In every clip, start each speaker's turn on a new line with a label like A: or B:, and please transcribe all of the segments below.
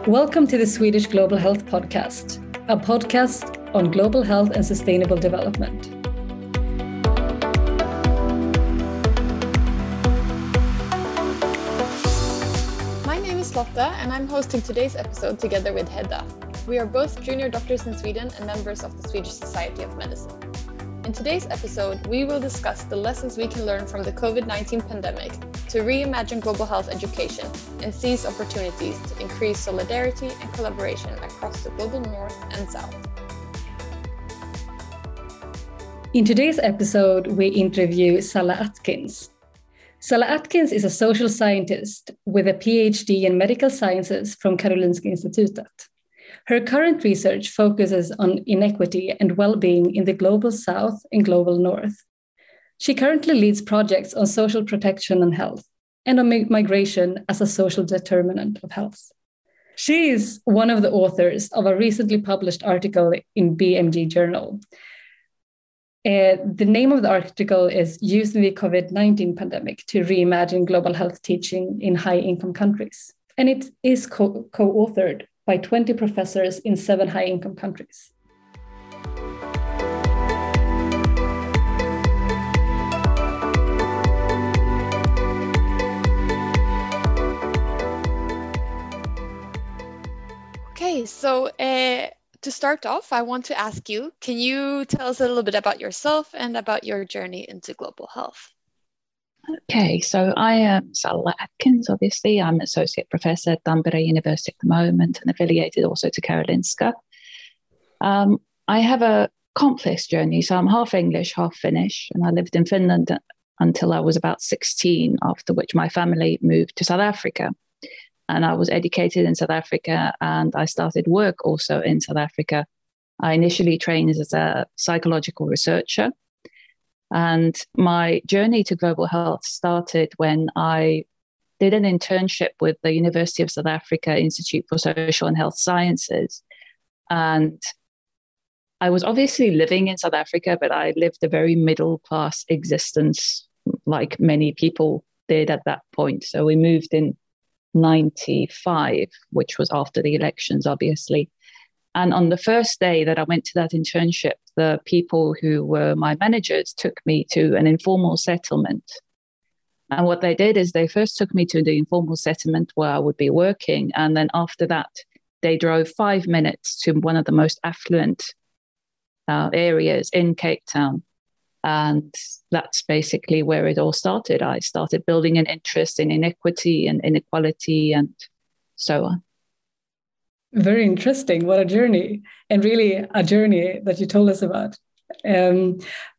A: Welcome to the Swedish Global Health Podcast, a podcast on global health and sustainable development.
B: My name is Lotta and I'm hosting today's episode together with Hedda. We are both junior doctors in Sweden and members of the Swedish Society of Medicine. In today's episode, we will discuss the lessons we can learn from the COVID-19 pandemic to reimagine global health education and seize opportunities to increase solidarity and collaboration across the global north and south.
A: In today's episode, we interview Salla Atkins. Salla Atkins is a social scientist with a PhD in medical sciences from Karolinska Institutet. Her current research focuses on inequity and well-being in the global south and global north. She currently leads projects on social protection and health, and on migration as a social determinant of health. She is one of the authors of a recently published article in BMJ Journal. The name of the article is Using the COVID-19 Pandemic to Reimagine Global Health Teaching in High-Income Countries. And it is co-authored by 20 professors in 7 high-income countries.
B: Okay, so to start off, I want to ask you, can you tell us a little bit about yourself and about your journey into global health?
C: Okay, so I am Salla Atkins, obviously. I'm Associate Professor at Tampere University at the moment and affiliated also to Karolinska. I have a complex journey, so I'm half English, half Finnish, and I lived in Finland until I was about 16, after which my family moved to South Africa. And I was educated in South Africa and I started work also in South Africa. I initially trained as a psychological researcher. And my journey to global health started when I did an internship with the University of South Africa Institute for Social and Health Sciences. And I was obviously living in South Africa, but I lived a very middle-class existence like many people did at that point. So we moved in 95, which was after the elections, obviously. And on the first day that I went to that internship, the people who were my managers took me to an informal settlement. And what they did is they first took me to the informal settlement where I would be working. And then after that, they drove 5 minutes to one of the most affluent areas in Cape Town. And that's basically where it all started. I started building an interest in inequity and inequality and so on.
A: Very interesting. What a journey, and really a journey that you told us about. We're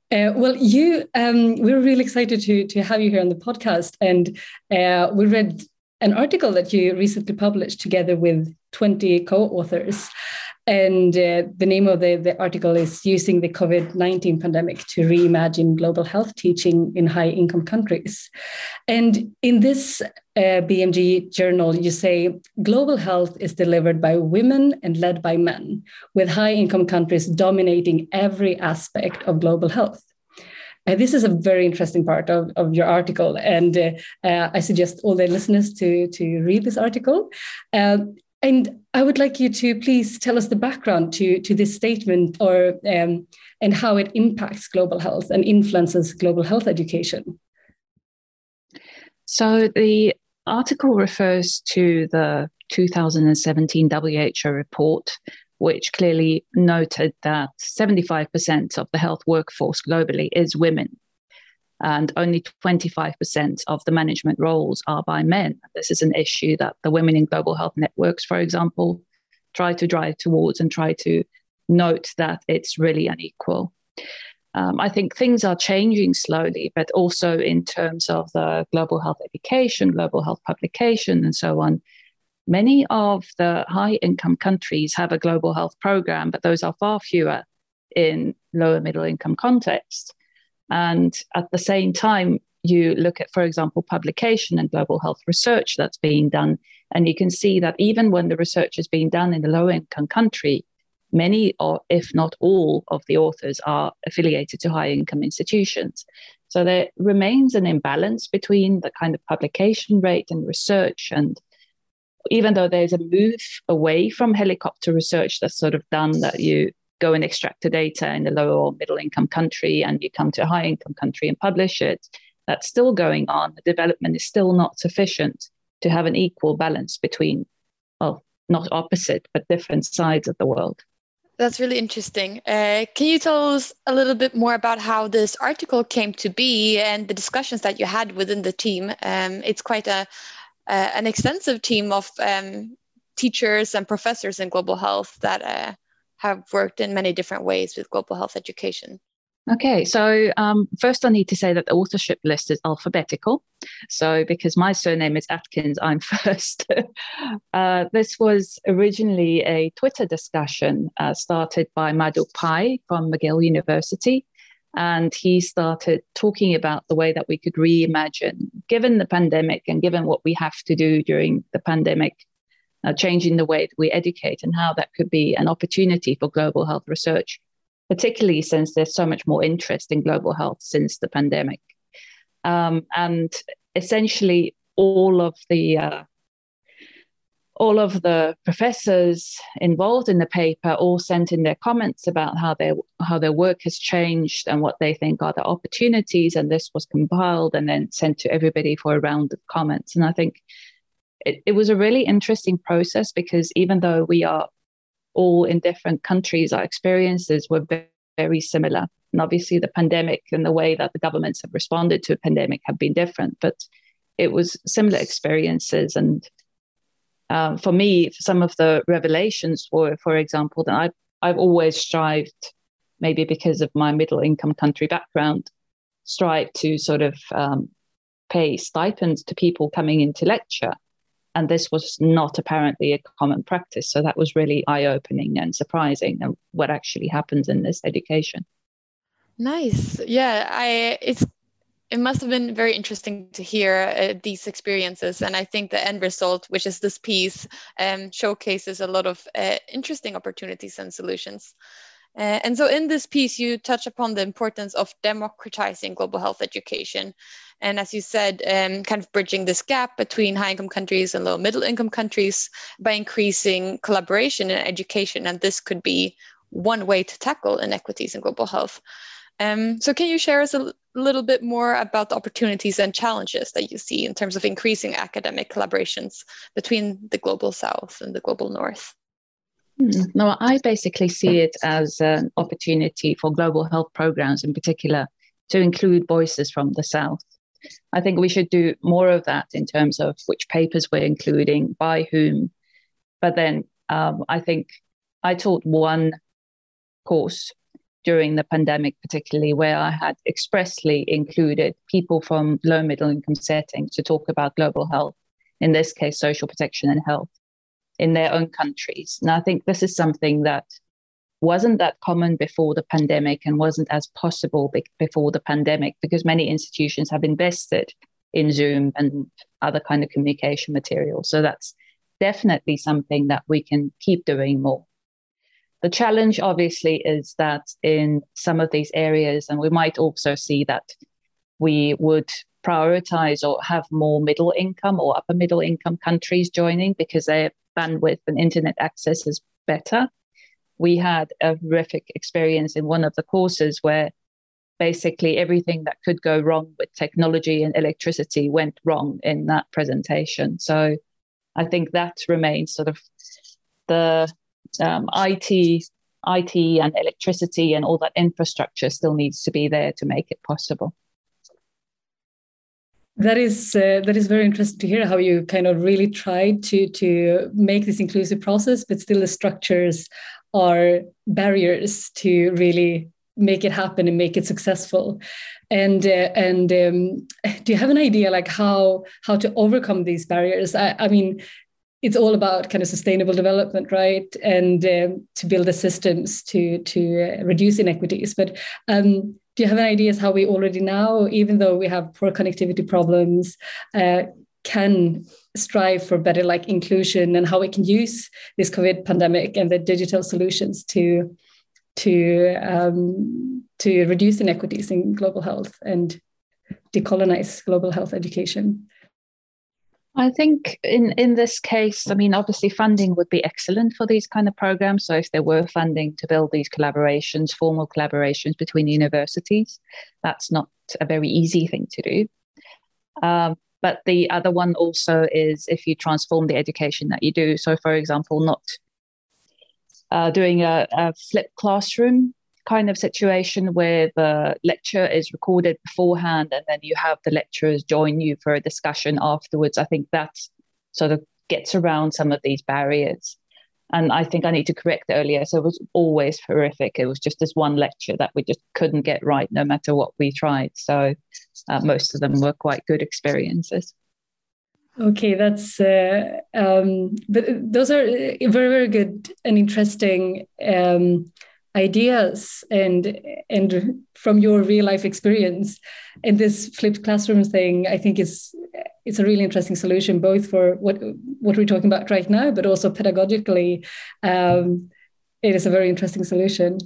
A: really excited to have you here on the podcast. And we read an article that you recently published together with 20 co-authors. And the name of the article is Using the COVID-19 Pandemic to Reimagine Global Health Teaching in High-Income Countries. And in this BMJ journal, you say, global health is delivered by women and led by men, with high-income countries dominating every aspect of global health. This is a very interesting part of your article, and I suggest all the listeners to read this article. And I would like you to please tell us the background to this statement and how it impacts global health and influences global health education.
C: So the article refers to the 2017 WHO report, which clearly noted that 75% of the health workforce globally is women. And only 25% of the management roles are by men. This is an issue that the Women in Global Health Networks, for example, try to drive towards and try to note that it's really unequal. I think things are changing slowly, but also in terms of the global health education, global health publication, and so on. Many of the high-income countries have a global health program, but those are far fewer in lower middle-income contexts. And at the same time, you look at, for example, publication and global health research that's being done, and you can see that even when the research is being done in a low-income country, many, or if not all, of the authors are affiliated to high-income institutions. So there remains an imbalance between the kind of publication rate and research and even though there's a move away from helicopter research that's sort of done, that you go and extract the data in a low or middle income country and you come to a high income country and publish it, that's still going on. The development is still not sufficient to have an equal balance between, well, not opposite, but different sides of the world.
B: That's really interesting. Can you tell us a little bit more about how this article came to be and the discussions that you had within the team? It's quite an extensive team of teachers and professors in global health that have worked in many different ways with global health education.
C: Okay, so first I need to say that the authorship list is alphabetical. So because my surname is Atkins, I'm first. This was originally a Twitter discussion started by Madhu Pai from McGill University. And he started talking about the way that we could reimagine, given the pandemic and given what we have to do during the pandemic, changing the way that we educate and how that could be an opportunity for global health research, particularly since there's so much more interest in global health since the pandemic. And essentially all of the professors involved in the paper all sent in their comments about how their work has changed and what they think are the opportunities. And this was compiled and then sent to everybody for a round of comments. And I think it was a really interesting process, because even though we are all in different countries, our experiences were very, very similar. And obviously the pandemic and the way that the governments have responded to a pandemic have been different, but it was similar experiences. And for me, some of the revelations were, for example, that I've always strived, maybe because of my middle income country background, strived to sort of pay stipends to people coming in to lecture. And this was not apparently a common practice. So that was really eye-opening and surprising, and what actually happens in this education.
B: Nice. Yeah, it must have been very interesting to hear these experiences. And I think the end result, which is this piece, showcases a lot of interesting opportunities and solutions. And so in this piece, you touch upon the importance of democratizing global health education. And as you said, kind of bridging this gap between high-income countries and low-middle-income countries by increasing collaboration in education. And this could be one way to tackle inequities in global health. So can you share us a little bit more about the opportunities and challenges that you see in terms of increasing academic collaborations between the global South and the global North?
C: No, I basically see it as an opportunity for global health programs in particular to include voices from the South. I think we should do more of that in terms of which papers we're including, by whom. But then I think I taught one course during the pandemic, particularly, where I had expressly included people from low middle income settings to talk about global health, in this case, social protection and health, in their own countries. And I think this is something that wasn't that common before the pandemic and wasn't as possible before the pandemic, because many institutions have invested in Zoom and other kind of communication materials. So that's definitely something that we can keep doing more. The challenge, obviously, is that in some of these areas, and we might also see that we would prioritize or have more middle income or upper middle income countries joining because their bandwidth and internet access is better. We had a horrific experience in one of the courses where basically everything that could go wrong with technology and electricity went wrong in that presentation. So I think that remains sort of the IT and electricity and all that infrastructure still needs to be there to make it possible.
A: That is very interesting to hear how you kind of really tried to make this inclusive process, but still the structures are barriers to really make it happen and make it successful. And do you have an idea like how to overcome these barriers? I mean, it's all about kind of sustainable development, right? And to build the systems to reduce inequities. But do you have any ideas how we already now, even though we have poor connectivity problems, can strive for better like inclusion, and how we can use this COVID pandemic and the digital solutions to reduce inequities in global health and decolonize global health education?
C: I think in this case, I mean, obviously funding would be excellent for these kind of programs. So if there were funding to build these collaborations, formal collaborations between universities, that's not a very easy thing to do. But the other one also is if you transform the education that you do. So for example, not doing a flipped classroom kind of situation where the lecture is recorded beforehand and then you have the lecturers join you for a discussion afterwards. I think that sort of gets around some of these barriers. And I think I need to correct earlier. So it was always horrific. It was just this one lecture that we just couldn't get right no matter what we tried. So most of them were quite good experiences.
A: Okay, that's but those are very, very good and interesting ideas and from your real life experience. And this flipped classroom thing, I think it's a really interesting solution, both for what we're talking about right now, but also pedagogically. It is a very interesting solution.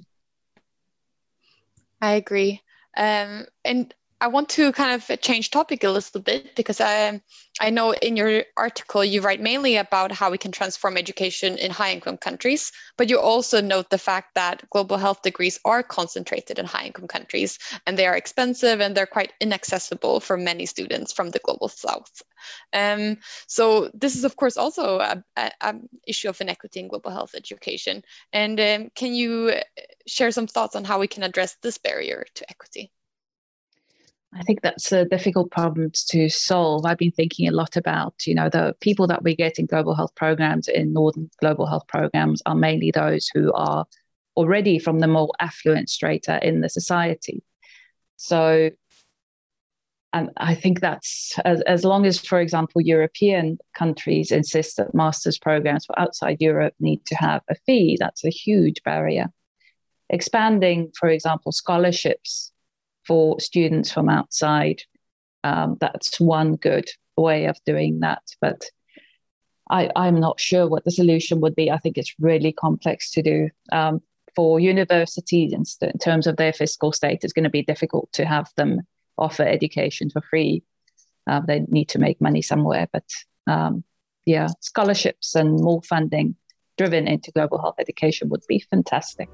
B: I agree. And I want to kind of change topic a little bit because I know in your article you write mainly about how we can transform education in high-income countries, but you also note the fact that global health degrees are concentrated in high-income countries and they are expensive and they're quite inaccessible for many students from the global south. So this is of course also an issue of inequity in global health education. And can you share some thoughts on how we can address this barrier to equity?
C: I think that's a difficult problem to solve. I've been thinking a lot about, the people that we get in global health programs, in Northern global health programs, are mainly those who are already from the more affluent strata in the society. So, and I think that's as long as, for example, European countries insist that master's programs for outside Europe need to have a fee, that's a huge barrier. Expanding, for example, scholarships for students from outside, that's one good way of doing that. But I'm not sure what the solution would be. I think it's really complex to do. For universities, in terms of their fiscal state, it's going to be difficult to have them offer education for free. They need to make money somewhere. But scholarships and more funding driven into global health education would be fantastic.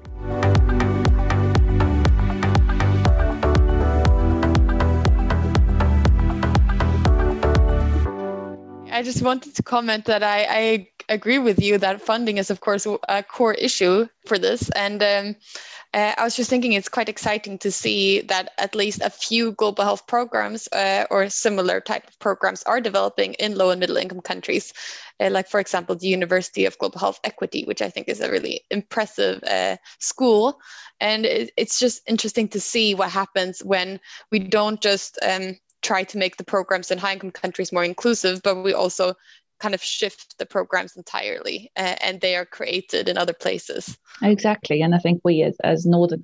B: I just wanted to comment that I agree with you that funding is, of course, a core issue for this. And I was just thinking it's quite exciting to see that at least a few global health programs or similar type of programs are developing in low and middle income countries. Like, for example, the University of Global Health Equity, which I think is a really impressive school. And it's just interesting to see what happens when we don't just try to make the programs in high-income countries more inclusive, but we also kind of shift the programs entirely and they are created in other places.
C: Exactly. And I think we as Northern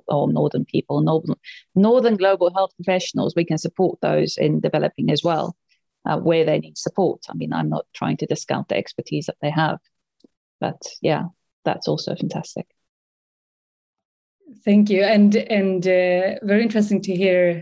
C: global health professionals, we can support those in developing as well, where they need support. I mean, I'm not trying to discount the expertise that they have, but yeah, that's also fantastic.
A: Thank you. And very interesting to hear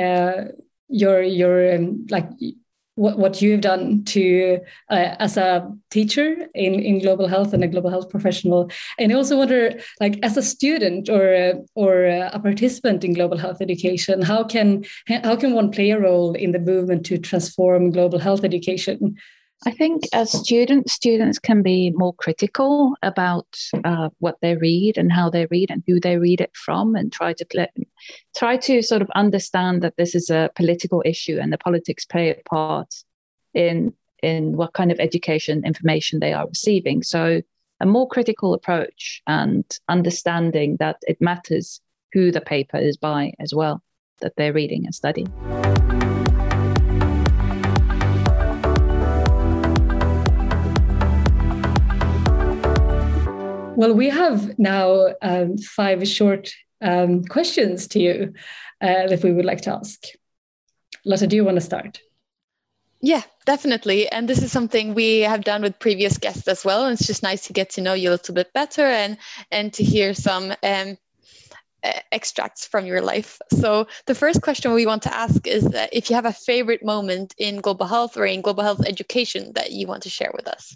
A: your like what you've done to as a teacher in global health and a global health professional. And I also wonder, like, as a student or a participant in global health education, how can one play a role in the movement to transform global health education?
C: I think as students can be more critical about what they read and how they read and who they read it from, and try to sort of understand that this is a political issue and the politics play a part in what kind of education information they are receiving. So a more critical approach and understanding that it matters who the paper is by as well, that they're reading and studying.
A: Well, we have now 5 short questions to you that we would like to ask. Lotta, do you want to start?
B: Yeah, definitely. And this is something we have done with previous guests as well. And it's just nice to get to know you a little bit better and to hear some extracts from your life. So the first question we want to ask is if you have a favorite moment in global health or in global health education that you want to share with us.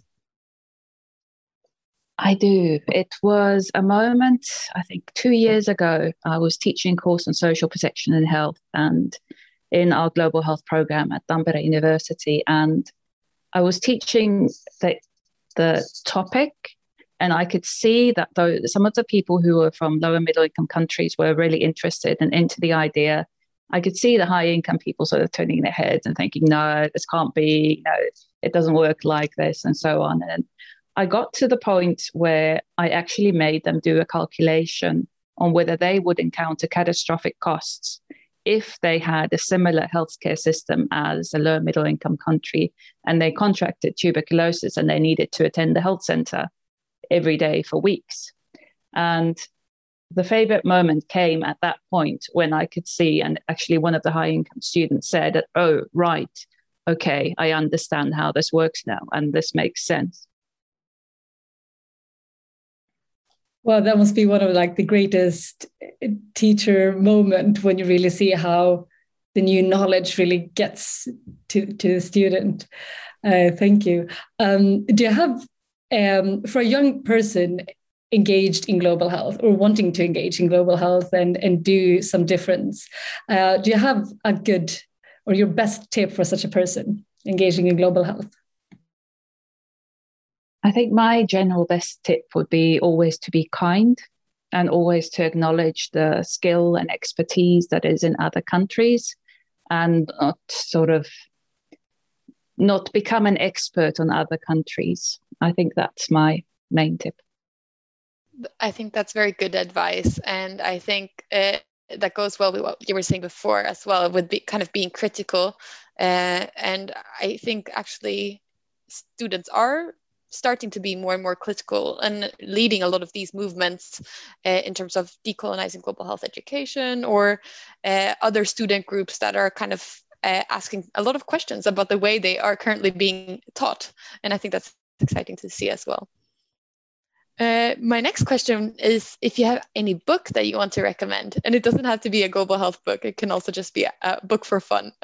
C: I do. It was a moment, I think 2 years ago, I was teaching a course on social protection and health and in our global health program at Tampere University. And I was teaching the topic, and I could see that though some of the people who were from lower middle income countries were really interested and into the idea. I could see the high income people sort of turning their heads and thinking, no, this can't be, no, it doesn't work like this, and so on. And I got to the point where I actually made them do a calculation on whether they would encounter catastrophic costs if they had a similar healthcare system as a low middle income country and they contracted tuberculosis and they needed to attend the health center every day for weeks. And the favorite moment came at that point when I could see, and actually one of the high income students said that, oh, right, okay, I understand how this works now and this makes sense.
A: Well, that must be one of like the greatest teacher moment when you really see how the new knowledge really gets to the student. Thank you. Do you have, for a young person engaged in global health or wanting to engage in global health and do some difference, do you have a good or your best tip for such a person engaging in global health?
C: I think my general best tip would be always to be kind and always to acknowledge the skill and expertise that is in other countries and not become an expert on other countries. I think that's my main tip.
B: I think that's very good advice. And I think that goes well with what you were saying before as well, with kind of being critical. And I think actually students are starting to be more and more critical and leading a lot of these movements in terms of decolonizing global health education or other student groups that are kind of asking a lot of questions about the way they are currently being taught. And I think that's exciting to see as well. My next question is if you have any book that you want to recommend, and it doesn't have to be a global health book. It can also just be a book for fun.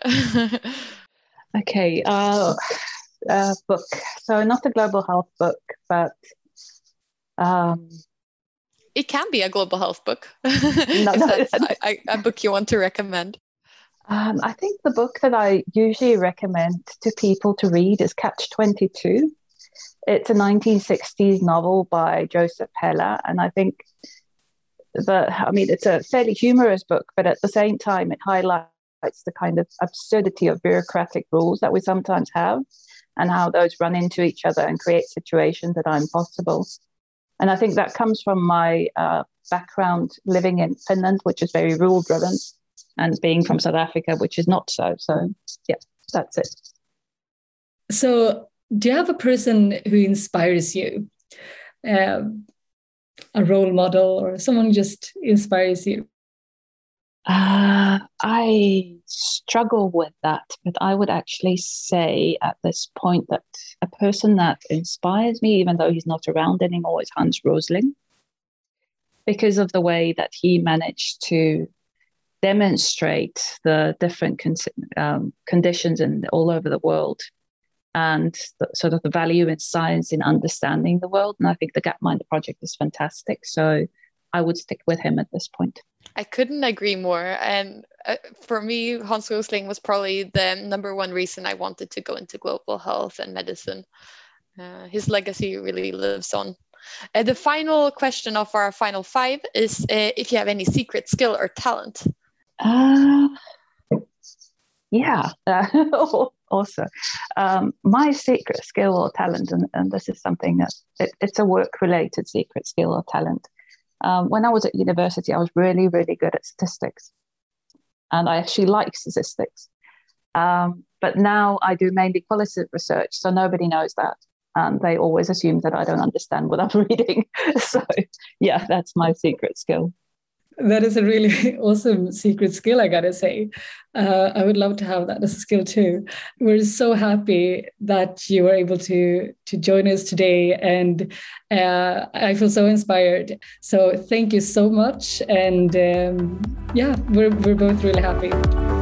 C: Okay. Book. So not a global health book, but
B: it can be a global health book. If that's a book you want to recommend.
C: I think the book that I usually recommend to people to read is Catch-22. It's a 1960s novel by Joseph Heller, and I think it's a fairly humorous book, but at the same time it highlights the kind of absurdity of bureaucratic rules that we sometimes have and how those run into each other and create situations that are impossible. And I think that comes from my background living in Finland, which is very rule-driven, and being from South Africa, which is not so. So, yeah, that's it.
A: So, do you have a person who inspires you? A role model or someone who just inspires you?
C: I struggle with that, but I would actually say at this point that a person that inspires me, even though he's not around anymore, is Hans Rosling, because of the way that he managed to demonstrate the different conditions all over the world and sort of the value in science in understanding the world. And I think the Gapminder project is fantastic. So I would stick with him at this point.
B: I couldn't agree more. And for me, Hans Rosling was probably the number one reason I wanted to go into global health and medicine. His legacy really lives on. The final question of our final 5 is if you have any secret skill or talent.
C: Also, my secret skill or talent, and this is something that it's a work-related secret skill or talent. When I was at university, I was really, really good at statistics. And I actually like statistics. But now I do mainly qualitative research, so nobody knows that. And they always assume that I don't understand what I'm reading. So, yeah, that's my secret skill.
A: That is a really awesome secret skill, I gotta say. I would love to have that as a skill too. We're so happy that you were able to join us today, and I feel so inspired. So thank you so much, and yeah, we're both really happy.